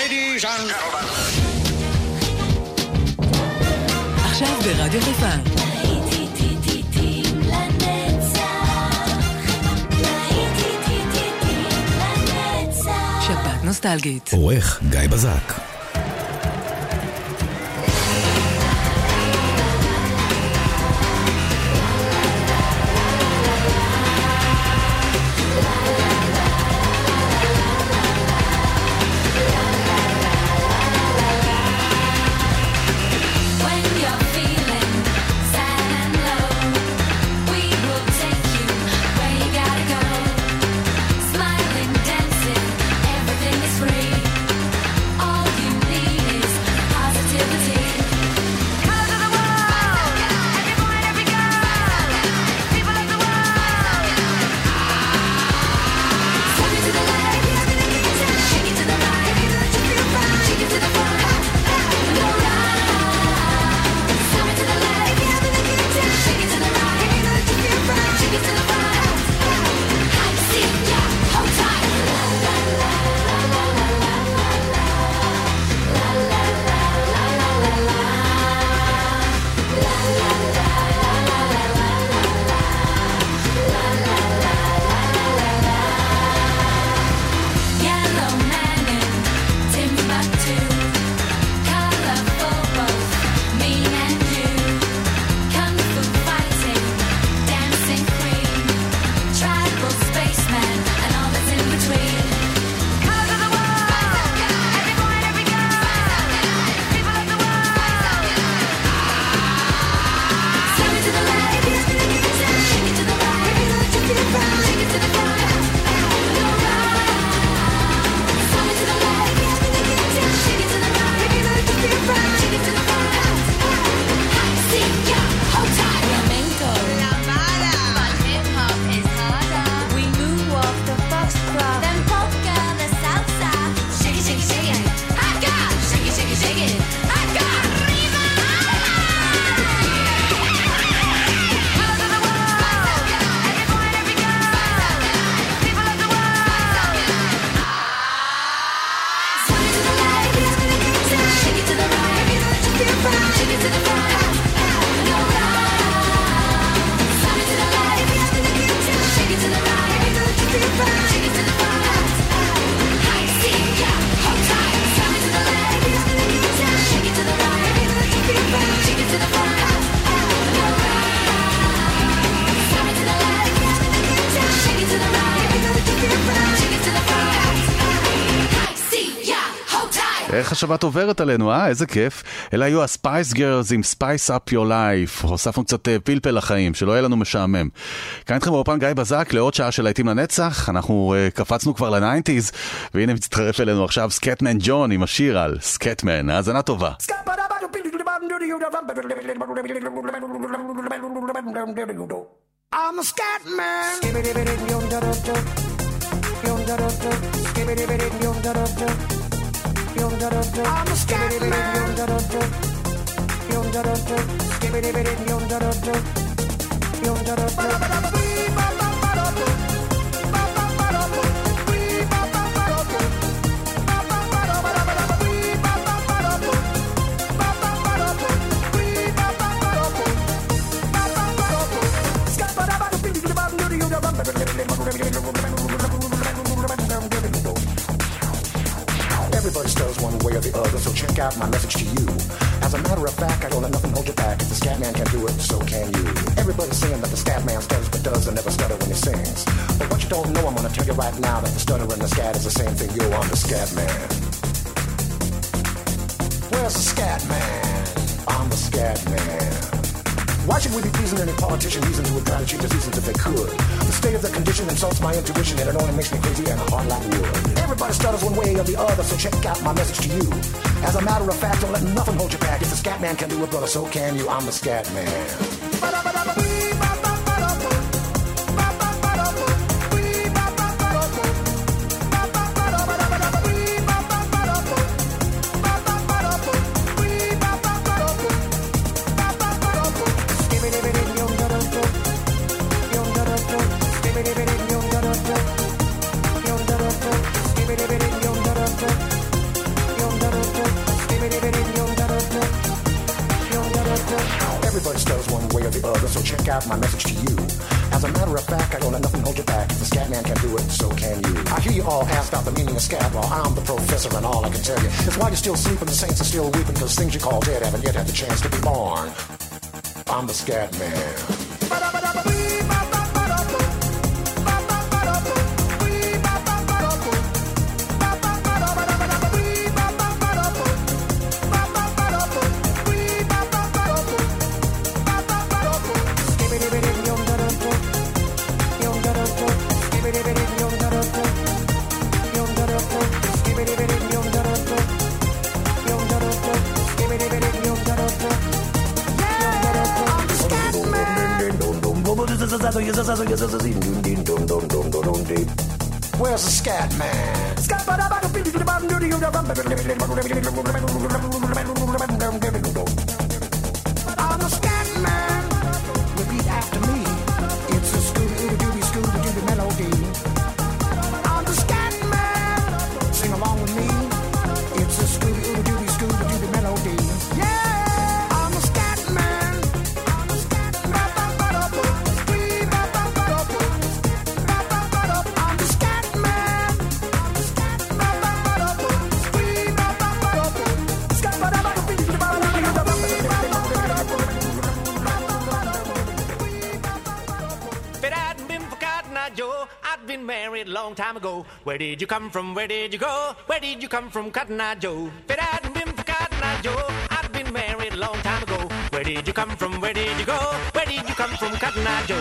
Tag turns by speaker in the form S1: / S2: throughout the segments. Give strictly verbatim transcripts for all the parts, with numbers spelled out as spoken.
S1: Ladies and gentlemen.
S2: עכשיו ברדיו חיפה. שבת נוסטלגית.
S3: עורך גיא בזק.
S4: איך השבת עוברת עלינו, אה? איזה כיף. אלה היו הספייס גרלס עם Spice Up Your Life. הוספנו קצת פלפל לחיים, שלא יהיה לנו משעמם. כאן איתכם באופן גיא בזק לעוד שעה של להיטים לנצח. אנחנו uh, קפצנו כבר ל-ניינטיז, והנה מצטרף אלינו עכשיו סקטמן ג'ון עם השיר על סקטמן. האזנה טובה.
S1: I'm a scat man. I'm a scat man. Everybody stutters one way or the other, so check out my message to you. As a matter of fact, I don't let nothing hold you back. If the scat man can do it, so can you. Everybody's saying that the scat man stutters but does and never stutter when he sings. But what you don't know, I'm gonna tell you right now that the stutter and the scat is the same thing. Yo, I'm the scat man. Where's the scat man? I'm the scat man. Why should we be pleasing any politician reason who would try to cheat the seasons if they could? The state of the condition insults my intuition and it only makes me crazy and hard like wood. Everybody stutters one way or the other, so check out my message to you. As a matter of fact, don't let nothing hold you back. If the scat man can do it, brother, so can you. I'm the scat man. other, so check out my message to you. As a matter of fact, I don't let nothing hold you back. If the scat man can do it, so can you. I hear you all ask about the meaning of scat. Well, I'm the professor, and all I can tell you is why you're still sleeping, the saints are still weeping, because things you call dead haven't yet had the chance to be born. I'm the scat man. Where's the scat man? I'm the scat man. Repeat after me. It's a Scooby-Dooby, Scooby-Dooby melody. I'm the scat man. Sing along with me. It's a Scooby-Dooby, Scooby-Dooby melody. Yeah, I'm the scat man. I'm the scat man. I'm the scat man.
S3: If it hadn't been for Cotton Eye Joe, I'd been married a long time ago. Where did you come from? Where did you go? Where did you come from, Cotton Eye Joe? If it hadn't been for Cotton Eye Joe, I'd been married a long time ago. Where did you come from? Where did you go? Where did you come from, Cotton Eye Joe?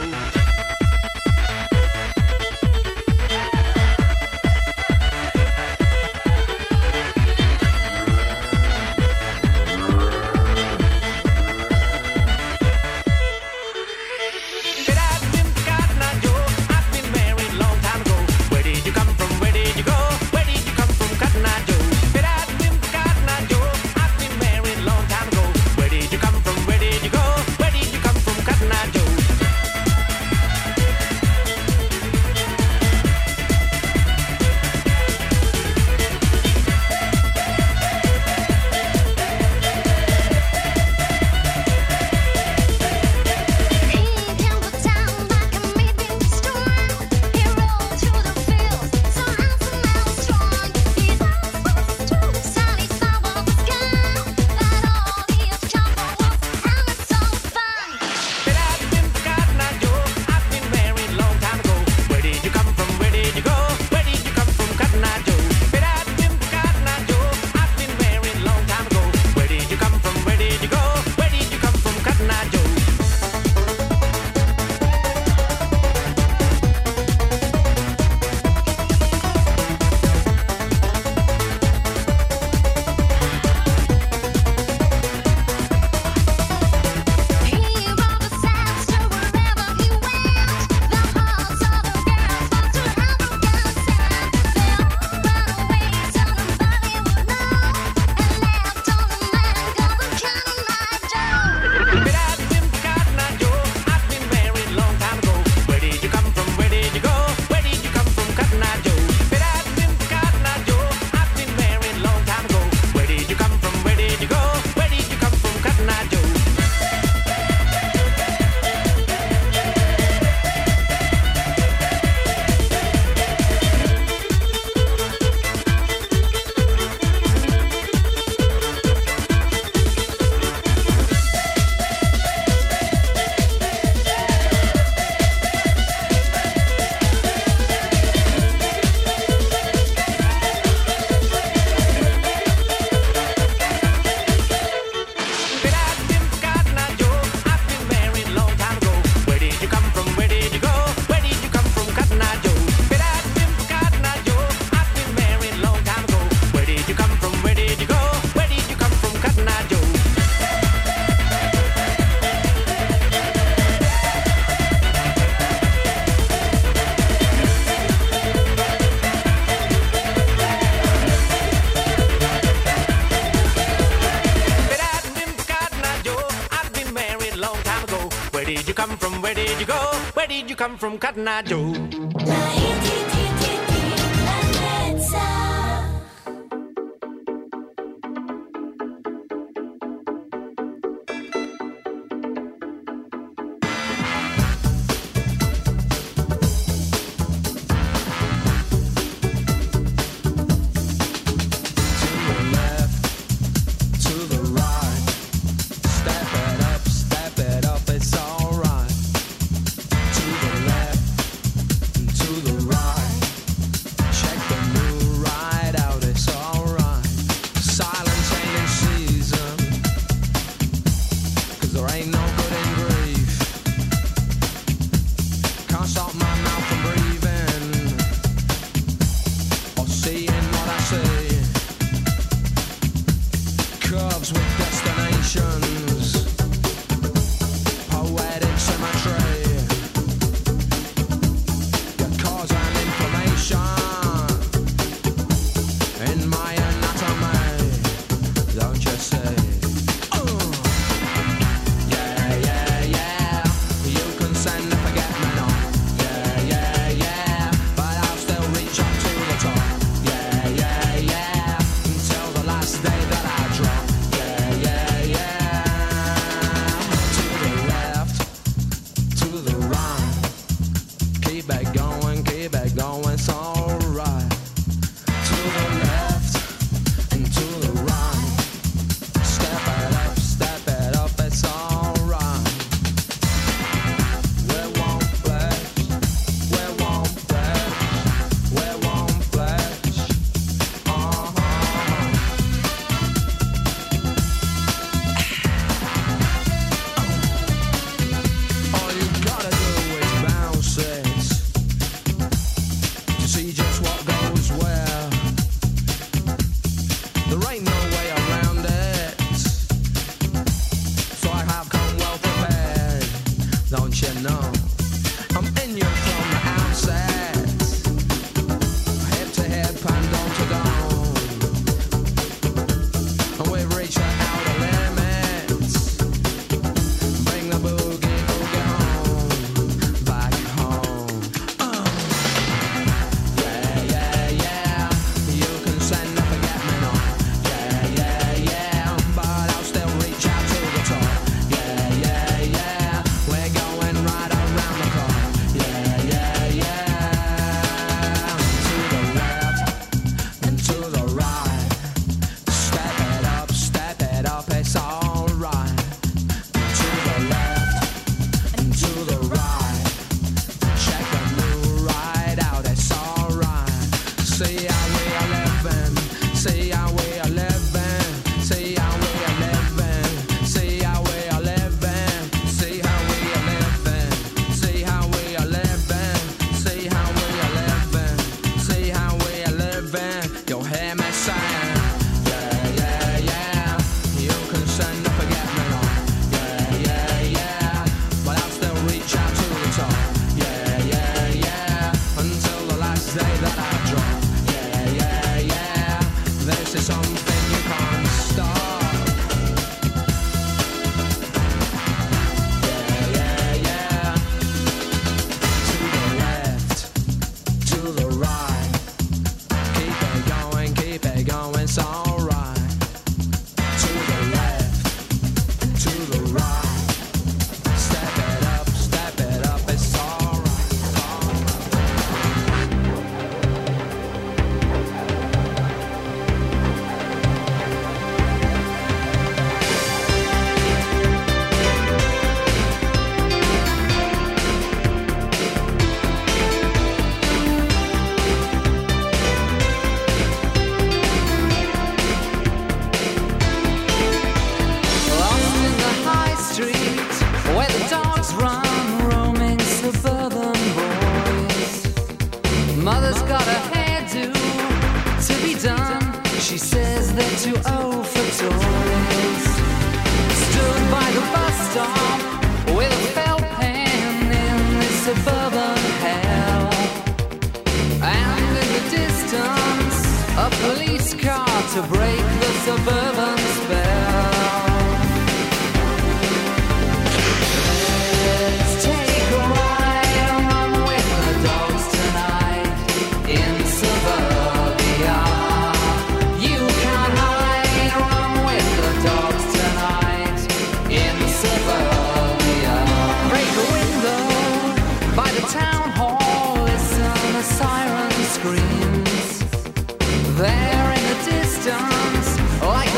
S3: Come from Cotton Eye Joe.
S5: loves with destinations, poetic symmetry. You cause an inflammation in my anatomy, don't you see? Uh. Yeah, yeah, yeah. You can send a forget me not. Yeah, yeah, yeah. But I'll still reach up to the top. Yeah, yeah, yeah. Until the last day that I drop. Yeah, yeah, yeah. To the left, to the right. Keep it going, keep it going, it's alright. To the left and to the right. Step it up, step it up, it's alright. We won't flex, we won't flex, we won't flex. Uh-huh. All you gotta do is bounce it to see just what goes where. There ain't no way around it, so I have come well prepared, don't you know? I'm in you from the outset, hip to hip and dome to dome, and we've reached the outer limits. Bring the boogie boogie home, back home. Uh. Yeah, yeah, yeah. You can send a forget me not. Yeah, yeah, yeah. But I'll still reach out to the top. Yeah, yeah, yeah. We're going right around the clock. Yeah, yeah, yeah. To the left and to the right. Step it up, step it up, it's alright. To the left and to the right. Check the new ride out, it's alright. See how we are living, see how we are living, see how we are living, see how we are living, see how we are living, see how we are living, see how we are living, see how we are living. You'll hear me saying, yeah, yeah, yeah. You can send a forget me not. Yeah, yeah, yeah. But I'll still reach out to the top. Yeah, yeah, yeah. Until the last day that I drop. Yeah, yeah, yeah. This is something you can't stop. Yeah, yeah, yeah. To the left, to the right. Keep it going, keep it going, it's alright. To the left, to the right. Step it up, step it up, it's alright.
S6: Lost in the high street, where the dogs run, roaming suburban boys. Mother's got a hairdo to be done. She says they're too old for toys. Stood by the bus stop with a felt pen in this suburban hell. And in the distance, a police car to break the suburban spell. Let's take a ride and run with the dogs tonight in suburbia. You can't hide, run with the dogs tonight in suburbia. Break a window by the town hall, listen a siren screams. There in the distance, like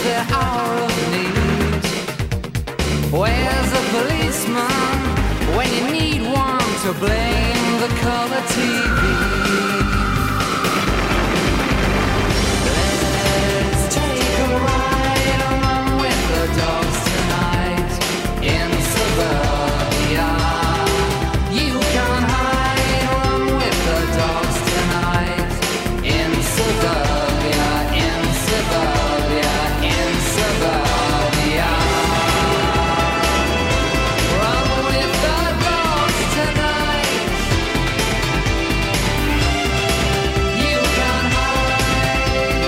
S6: the hour of need. Where's the policeman when you need one to blame the color T V? Let's take a ride along with the dogs tonight in suburbia. You can hide along with the dogs tonight in suburbia, in suburbia, in suburbia. Run with the dogs tonight. You can hide.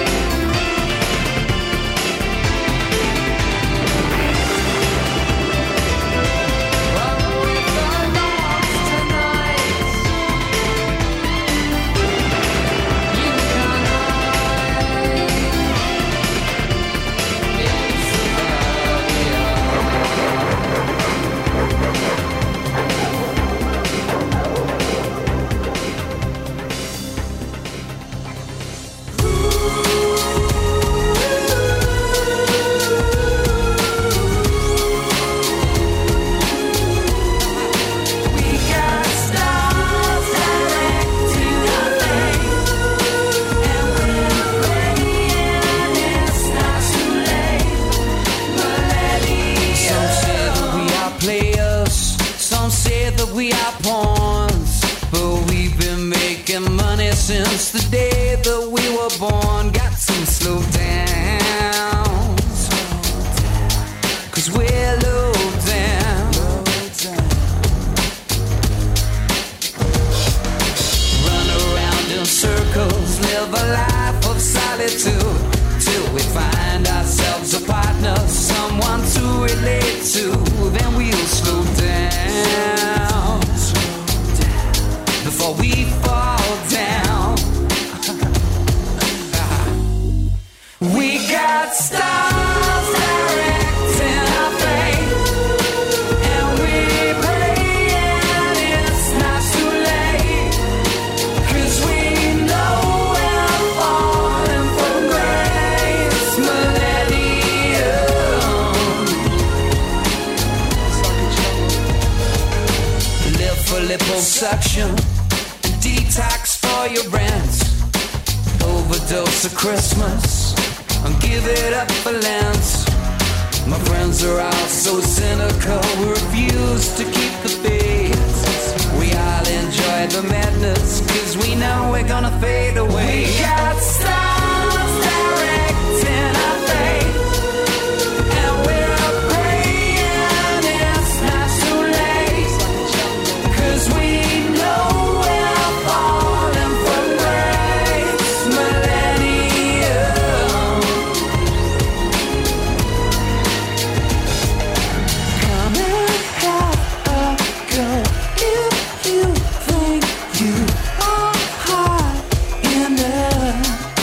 S6: Run with the dogs tonight. You can hide in suburbia. We got stars directing our fate, and we're praying it's not too late. Some say that we are players, some say that we are pawns, but we've been making money since the day that we were born. Got some slow down, cause we're low down. Run around in circles, live a life of solitude, till we find ourselves a partner, someone to relate to. Then we'll slow down before we fall down. We got stars directing our fate, and we're praying it's not too late, cause we know we're falling from grace. Millennium. Live for liposuction, detox for your rent, overdose of Christmas, and give it up for Lent. My friends are all so cynical, we refuse to keep the faith. We all enjoy the madness, cause we know we're gonna fade away. We got stars directing our fate, and we're praying it's not too late, cause we know we're falling from grace. Millennium. Come and have a go if you think you are hot enough.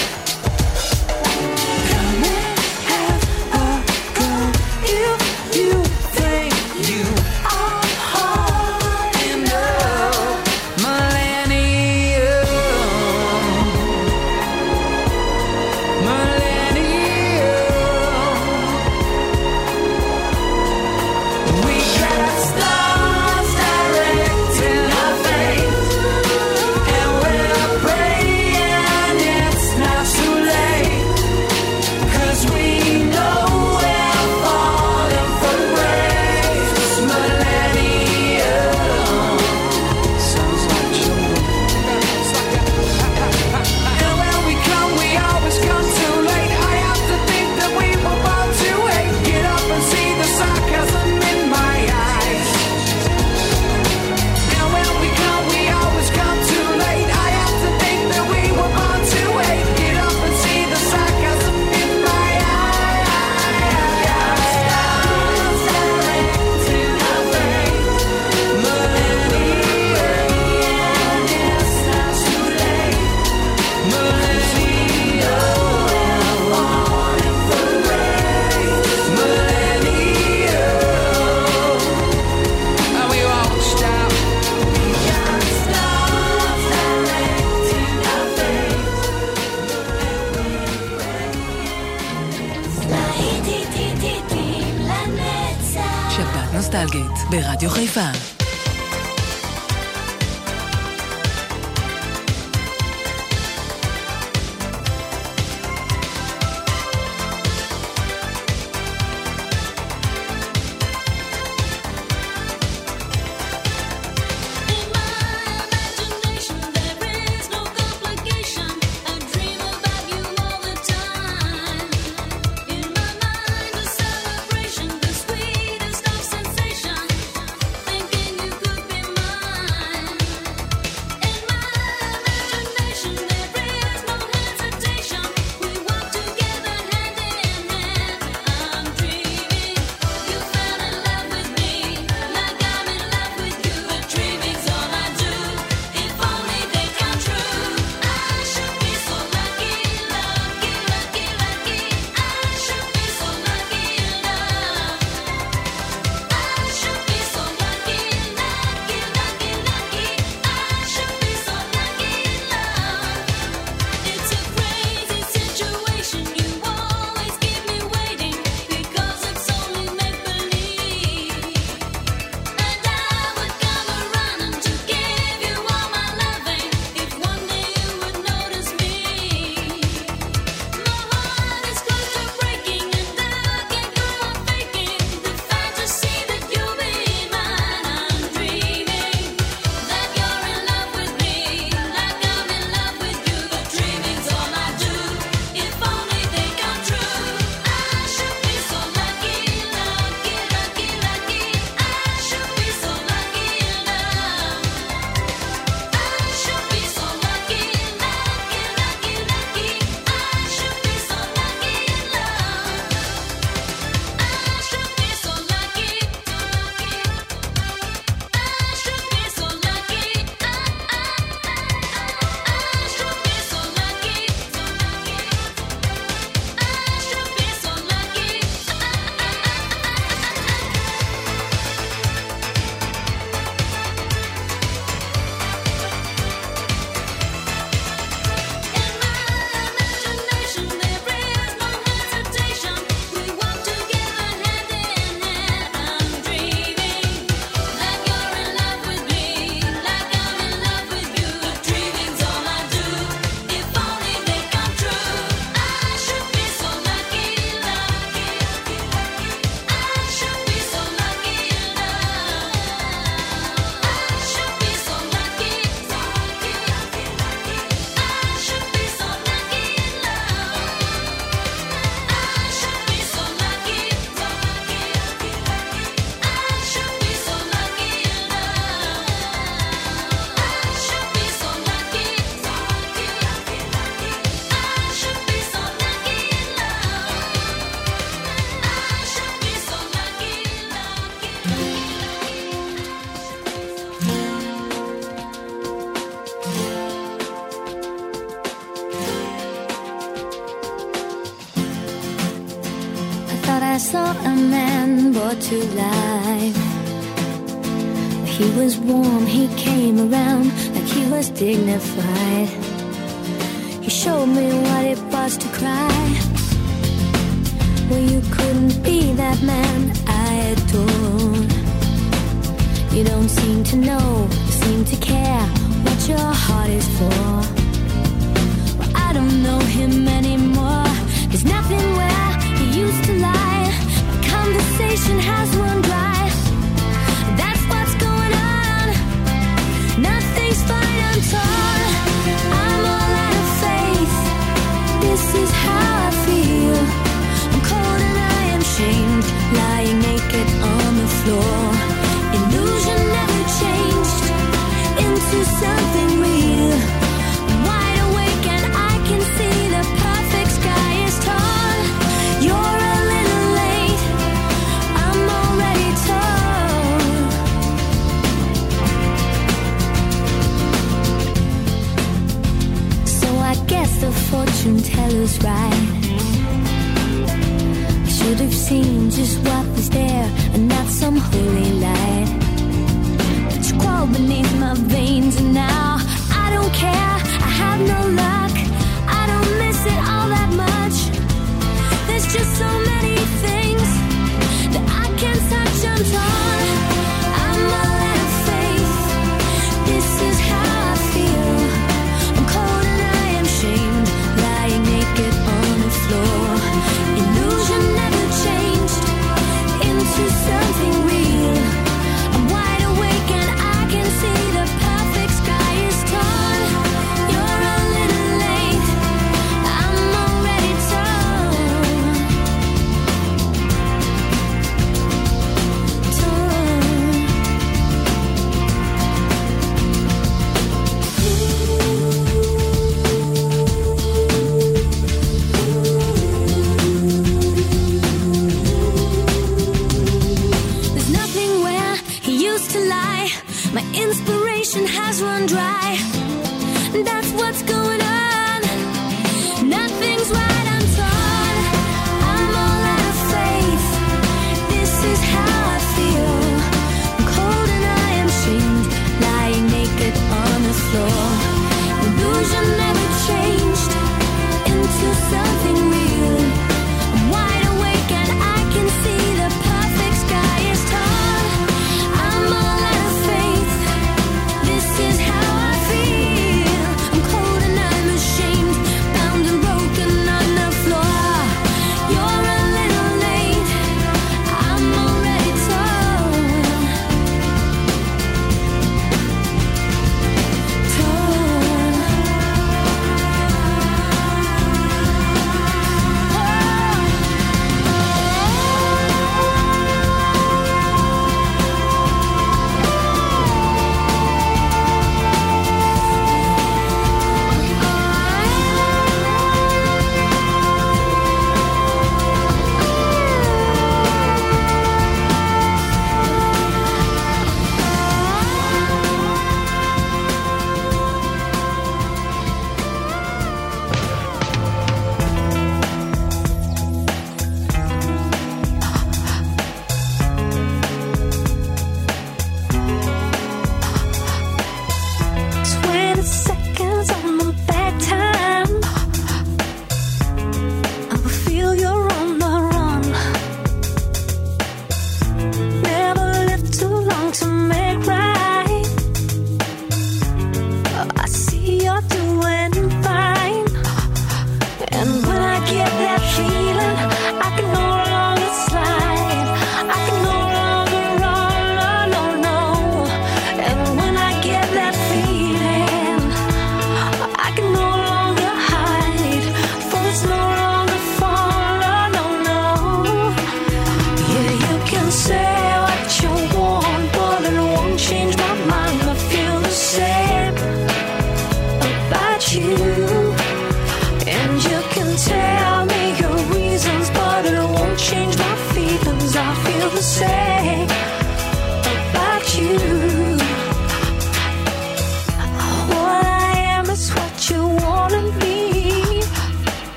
S2: נוסטלגית, ברדיו חיפה.
S7: I saw a man brought to life. He was warm, he came around like he was dignified. He showed me what it was to cry. Well, you couldn't be that man I adored. You don't seem to know, seem to care what your heart is for. Well, I don't know him anymore. There's nothing where he used to lie. Conversation has run dry. That's what's going on. Nothing's fine, I'm torn. I'm all out of faith. This is how I feel. I'm cold and I am shamed, lying naked on the floor. Illusion never changed into something real. I'm wide awake and I can see the perfect sky is torn. You're a little late, I'm already torn. So I guess the fortune teller's right. I should have seen just what was there and not some holy light. But you crawl beneath my veins and now I don't care, I have no luck. I don't miss it all that much. There's just so many things that I can't touch, I'm torn.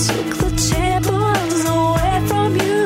S7: took the tables away from you.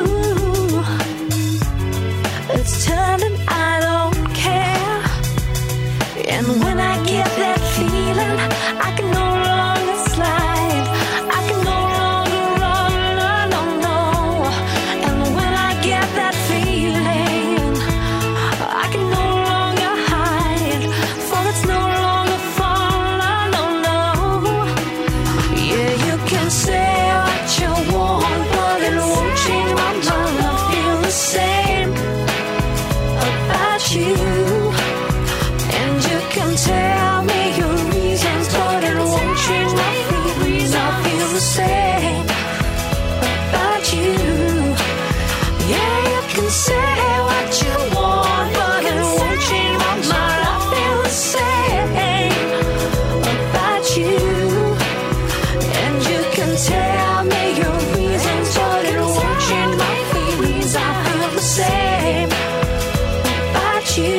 S7: It's turned and I don't care. And when I get that feeling, I can no longer slide. I can no longer run, no, no, no. And when I get that feeling, I can no longer hide. For it's no longer fun, no, no, no. Yeah, you can say what you want, but it won't change my mind. I feel the same about you. And you can tell me your reasons, but it won't change my feelings. I feel the same about you. Yeah, you can say what you want, but it won't change my mind. I feel the same about you. And you can tell me your reasons, but it won't change my feelings. I feel the same about you.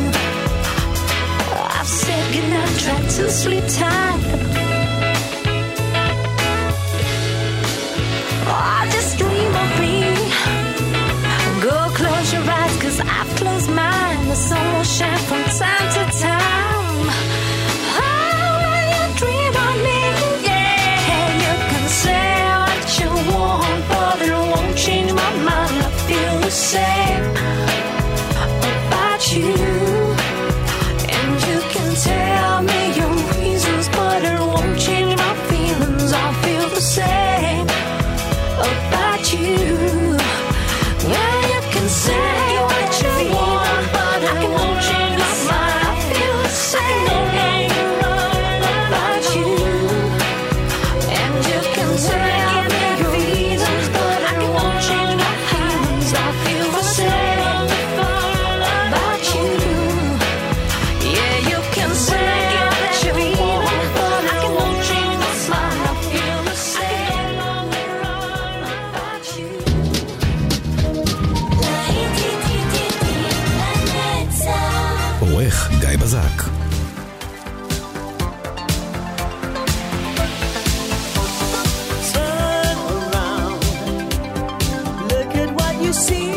S7: I've said goodnight, tried to sleep tight. Oh, just dream of me. Go close your eyes, cause I've closed mine. The sun will shine from time to time. Oh, when you dream of me, yeah, you can say what you want, but it won't change my mind. I feel the same about you. And you can tell me your reasons, but it won't change my feelings. I feel the same about you. Yeah, you can say what you want, but I won't change my mind. I feel the same about you. And you can tell me your reasons, but I won't change my feelings. I feel the same about you. Yeah, you can say what you want, but I won't change my mind. I feel the same about you.
S8: עורך גיא בזק.
S9: Turn around, look at what you see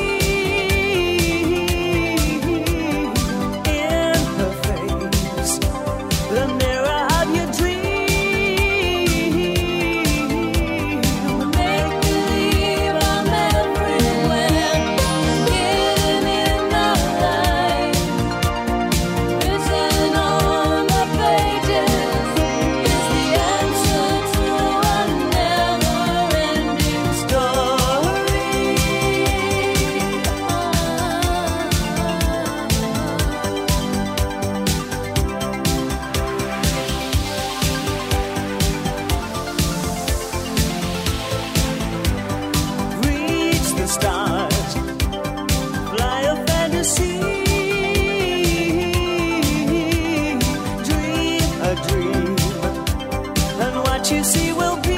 S9: in her face, the mirror of your dream. Make believe I'm everywhere, hidden in the light, written on the pages is the answer to a never-ending story. Reach the stars, fly a fantasy, dream a dream, and what you see will be.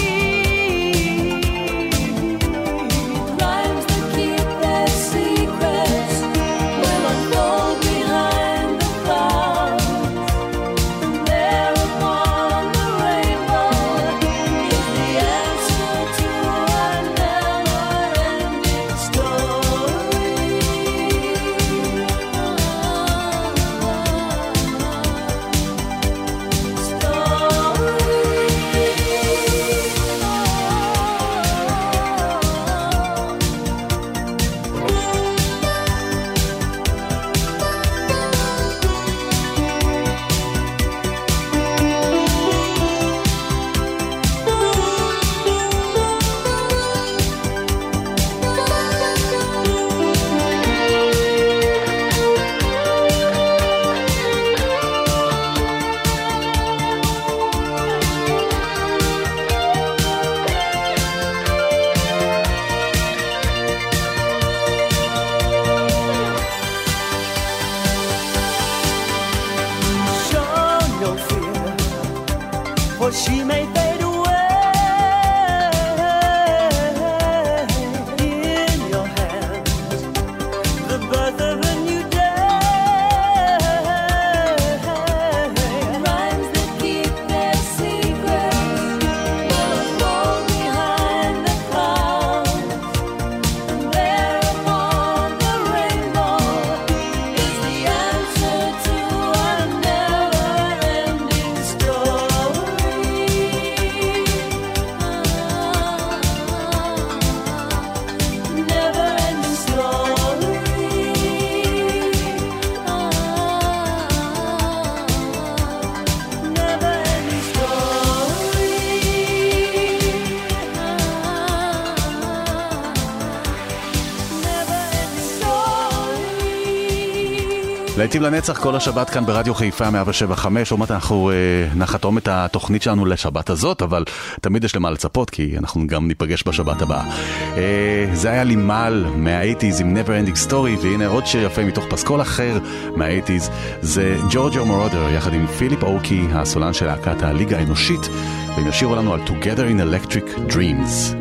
S9: Rhymes that keep their secrets will unfold behind the clouds. There upon the rainbow is the answer to a never-ending story. for she may fade away. In your hands, the birth of a new day. Rhymes that keep their secrets will unfold behind
S4: להיטים לנצח כל השבת כאן ברדיו חיפה מאה שבע חמש. עוד מעט אנחנו אה, נחתום את התוכנית שלנו לשבת הזאת, אבל תמיד יש למה לצפות, כי אנחנו גם ניפגש בשבת הבאה. אה, זה היה לימל מה-שמונים עם Never Ending Story, והנה עוד שיר יפה מתוך פסקול אחר מה-שמונים, זה ג'ורג'ו מורודר יחד עם פיליפ אוקי, הסולן של להקת הליגה האנושית, והם ישירו לנו על Together in Electric Dreams.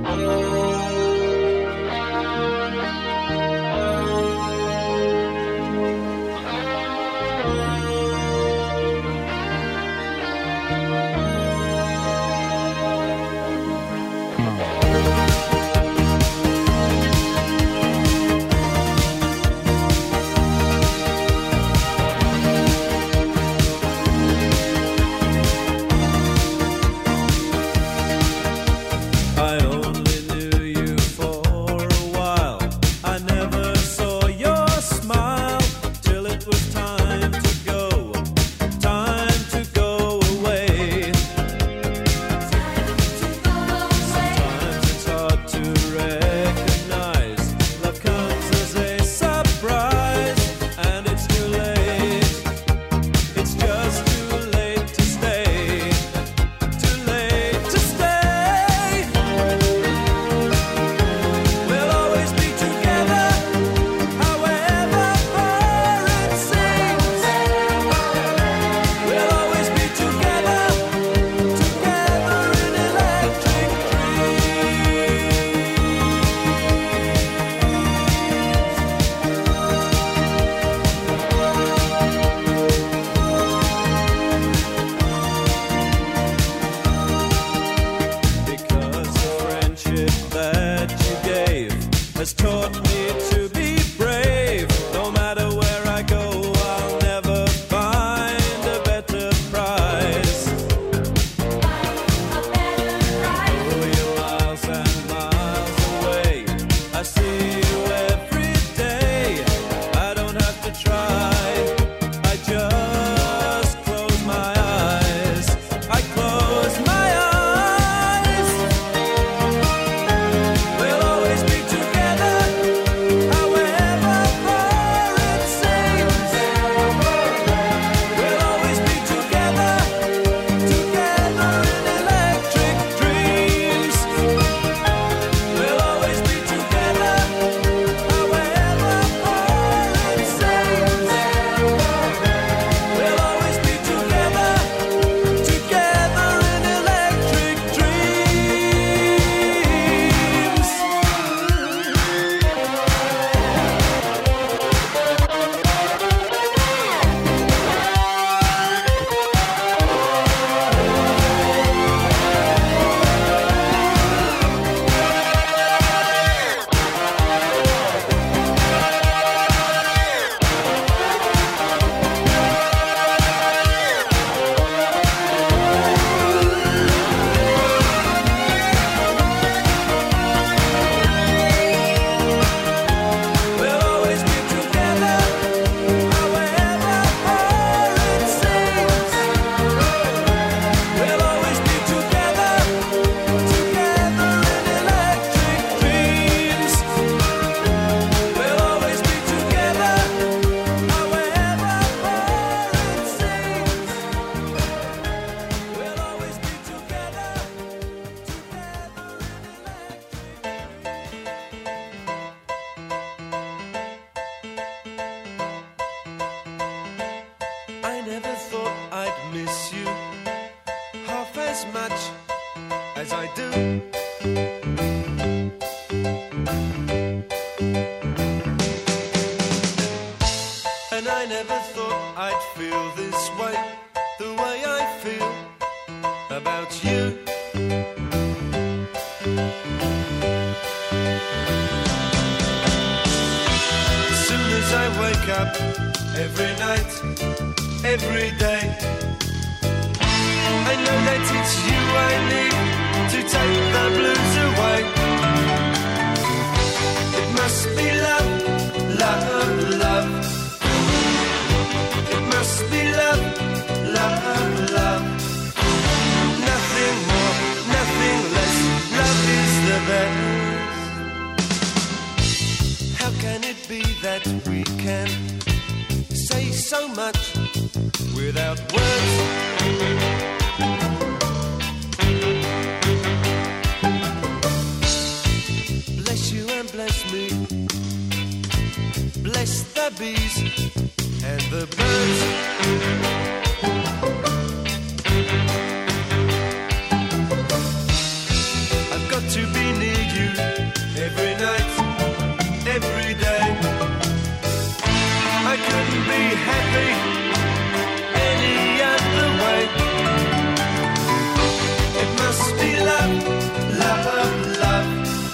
S8: How can it be that we can say much without words. Bless you and bless me. Bless the bees and the birds. I've got to be near you every night, every day. I couldn't be happy any other way. It must be love, love, love.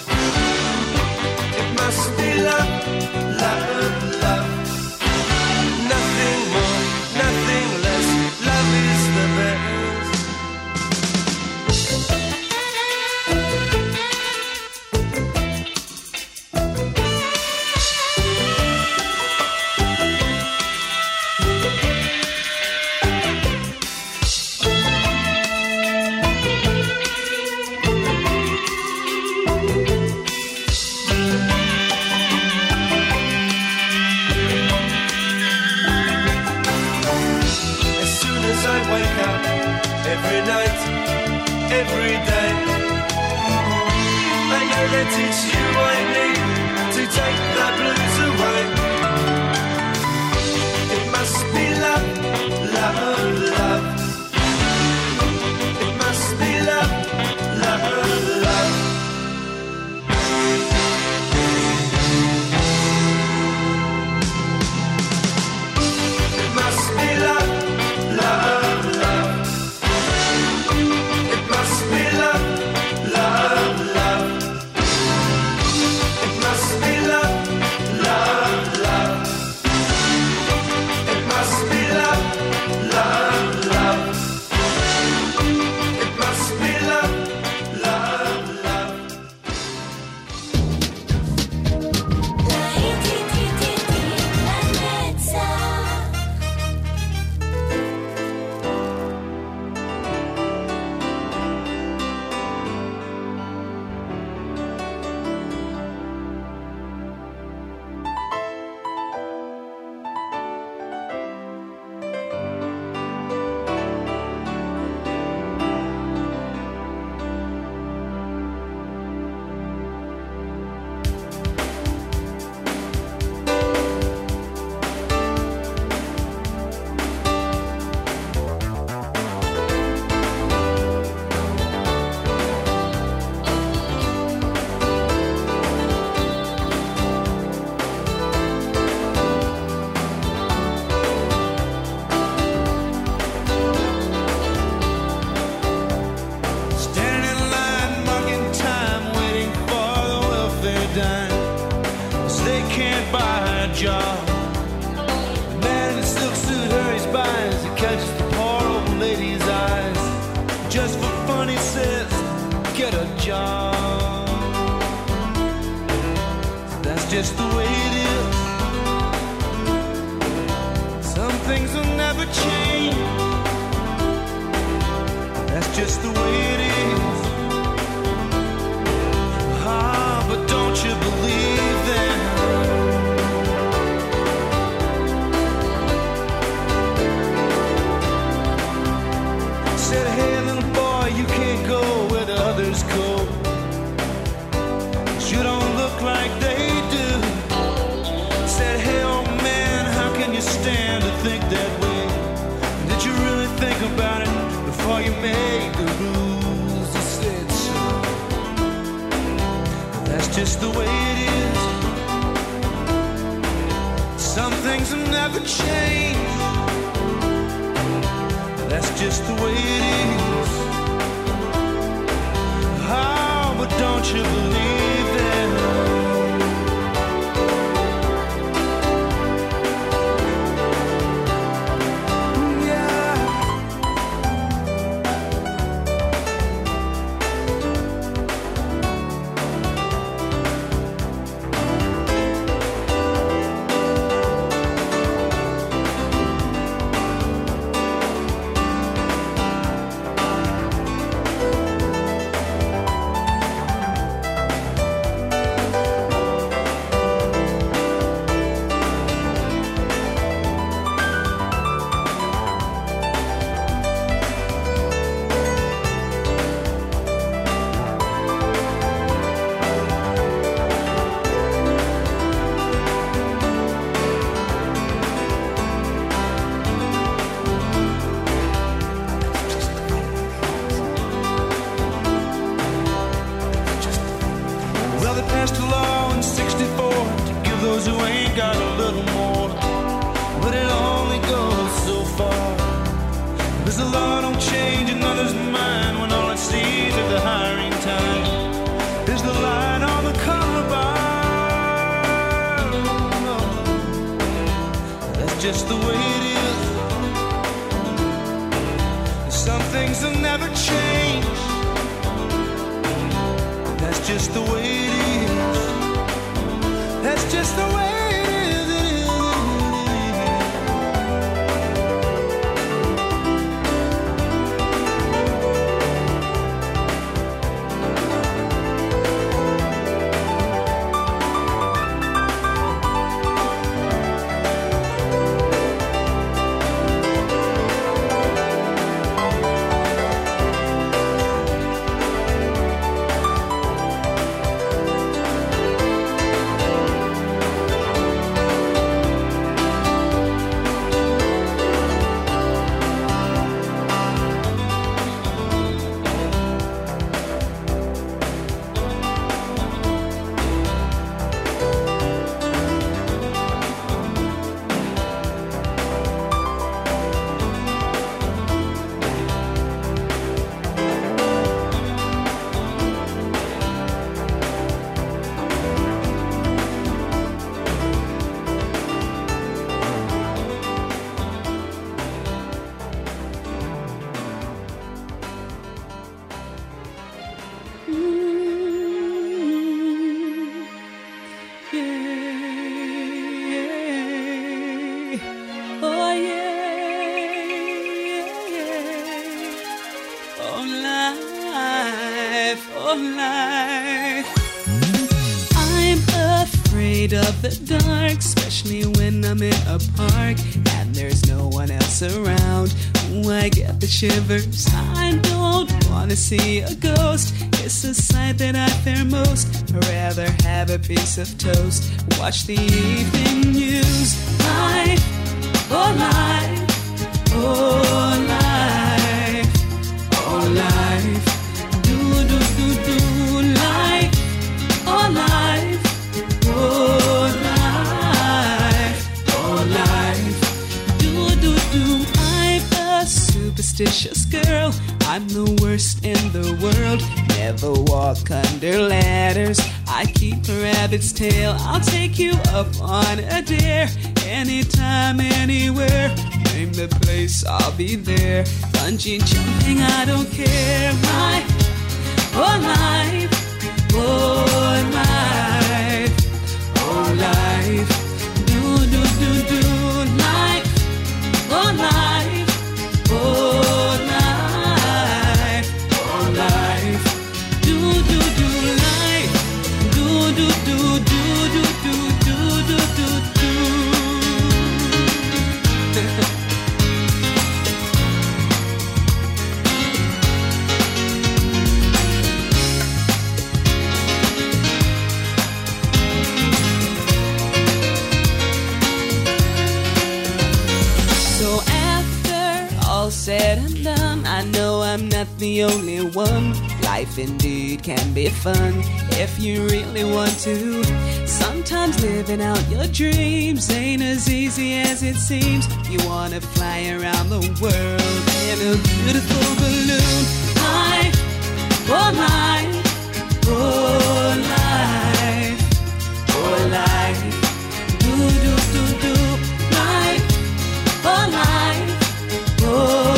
S8: It must be love, love, love. Nothing more, nothing less. Love is the best. Every night, every day, I know that it's you I need to take the blues away. It must be love, love, love. It must be love, love, love. It must be love, love, love. It must be love, love, love. It must be love, love, love. It must be love, love, love. It must be love, love, love. Standing in line, marking time, waiting for the welfare dime. 'Cause they can't buy a job. The man in the silk suit hurries by as he catches the poor old lady's eyes. Just for fun, he says, get a job. That's just the way it is. Some things will never change. That's just the way it is. Ah, but don't you believe them? Said, hey, little boy, you can't go where the others go. 'Cause you don't look like they do. Said, hey, old man, how can you stand to think that way? Did you really think about it before you made the rules? He said, so that's just the way it is. Some things will never change. That's just the way it is. Oh, but don't you believe them? Yeah. law don't change another's mind when all it sees at the hiring time is the line on the color bar. That's just the way it is. Some things will never change. That's just the way it is. That's just the way it is. It is.
S10: Of the dark, especially when I'm in a park and there's no one else around. Ooh, I get the shivers. I don't wanna see a ghost. It's a sight that I fear most. I'd rather have a piece of toast. Watch the evening news. Life, oh life, oh life, oh life. Do do do do life, oh life. Oh life, oh life, do do do. I'm a superstitious girl. I'm the worst in the world. Never walk under ladders. I keep a rabbit's tail. I'll take you up on a dare. Anytime, anywhere. Name the place, I'll be there. Bungee jumping, I don't care. My, oh life, oh life. Oh life, do do do do life, oh life, oh life, oh life, do do do life, do do do do do do do do do do. Said and done, I know I'm not the only one. Life indeed can be fun if you really want to. Sometimes living out your dreams ain't as easy as it seems. You wanna fly around the world in a beautiful balloon. Life, oh life, oh life, oh life, do do do do life, oh life. Oh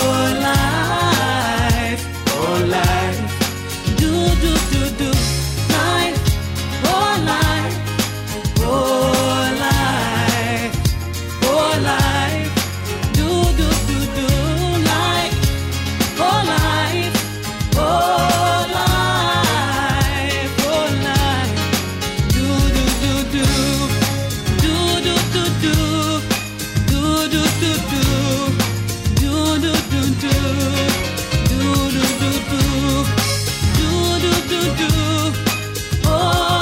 S10: life, oh life, do do do do life, oh life, oh life, oh life, do do do do life, oh life, oh life, oh life, do do do do, do do do do, do do do do. Do do do do, do do do do, do do do do. Oh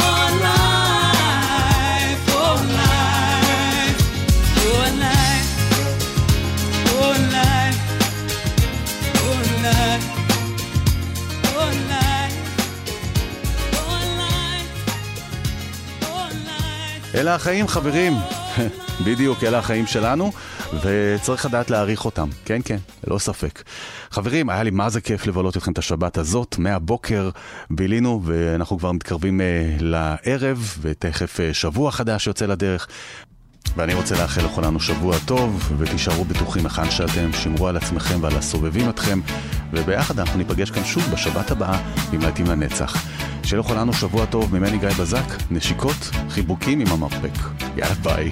S10: life, oh life, oh life, oh life, oh life, oh life, oh life, oh life.
S4: אלה החיים חברים, בדיוק אלה החיים שלנו. וצריך לדעת להעריך אותם, כן כן, לא ספק. חברים, היה לי מה זה כיף לבלות אתכם את השבת הזאת, מהבוקר בילינו ואנחנו כבר מתקרבים לערב, ותכף שבוע חדש יוצא לדרך, ואני רוצה לאחל לכולנו שבוע טוב, ותישארו בטוחים היכן שאתם, שמרו על עצמכם ועל הסובבים אתכם, וביחד אנחנו ניפגש כאן שוב בשבת הבאה עם להיטים לנצח. שיהיה לכולנו שבוע טוב, ממני גיא בזק, נשיקות, חיבוקים עם המרפק. יאללה ביי.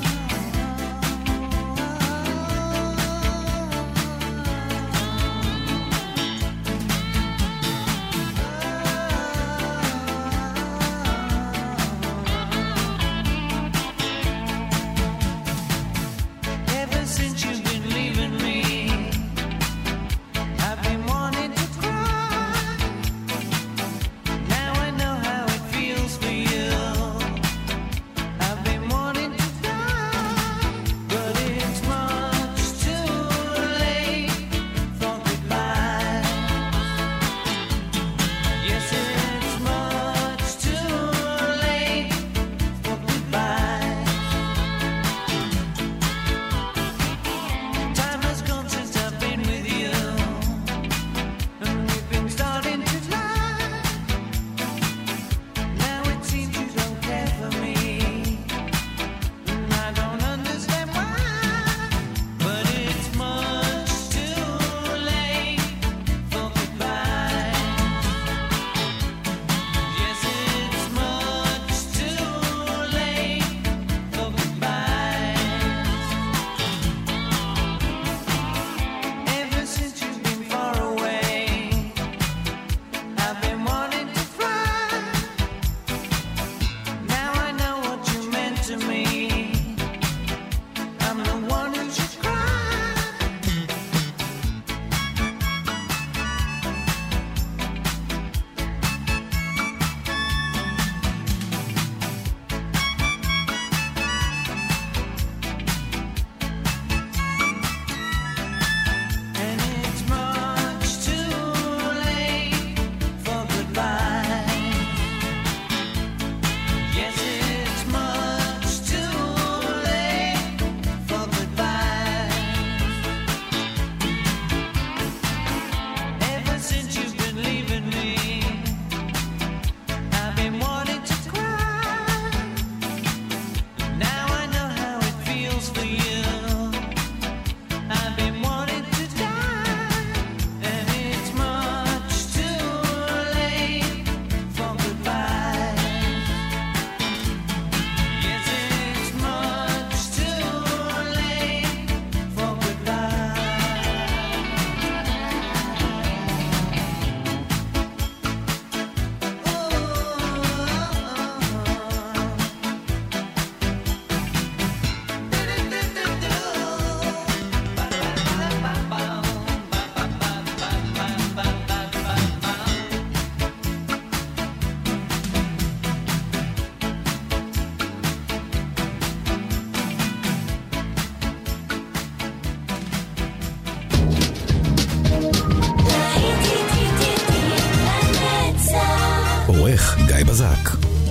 S11: עורך גיא בזק.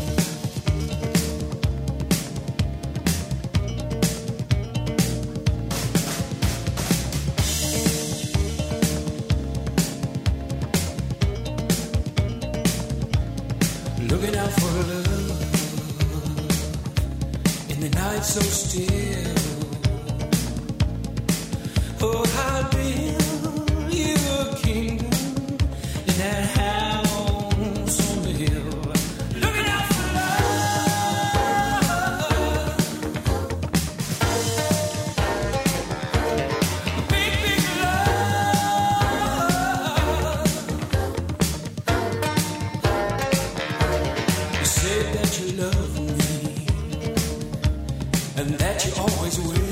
S8: Looking out for love in the night so still. Oh, how build you a kingdom in that house on the hill. Looking out for love, big, big love. You said that you love me and that you always will.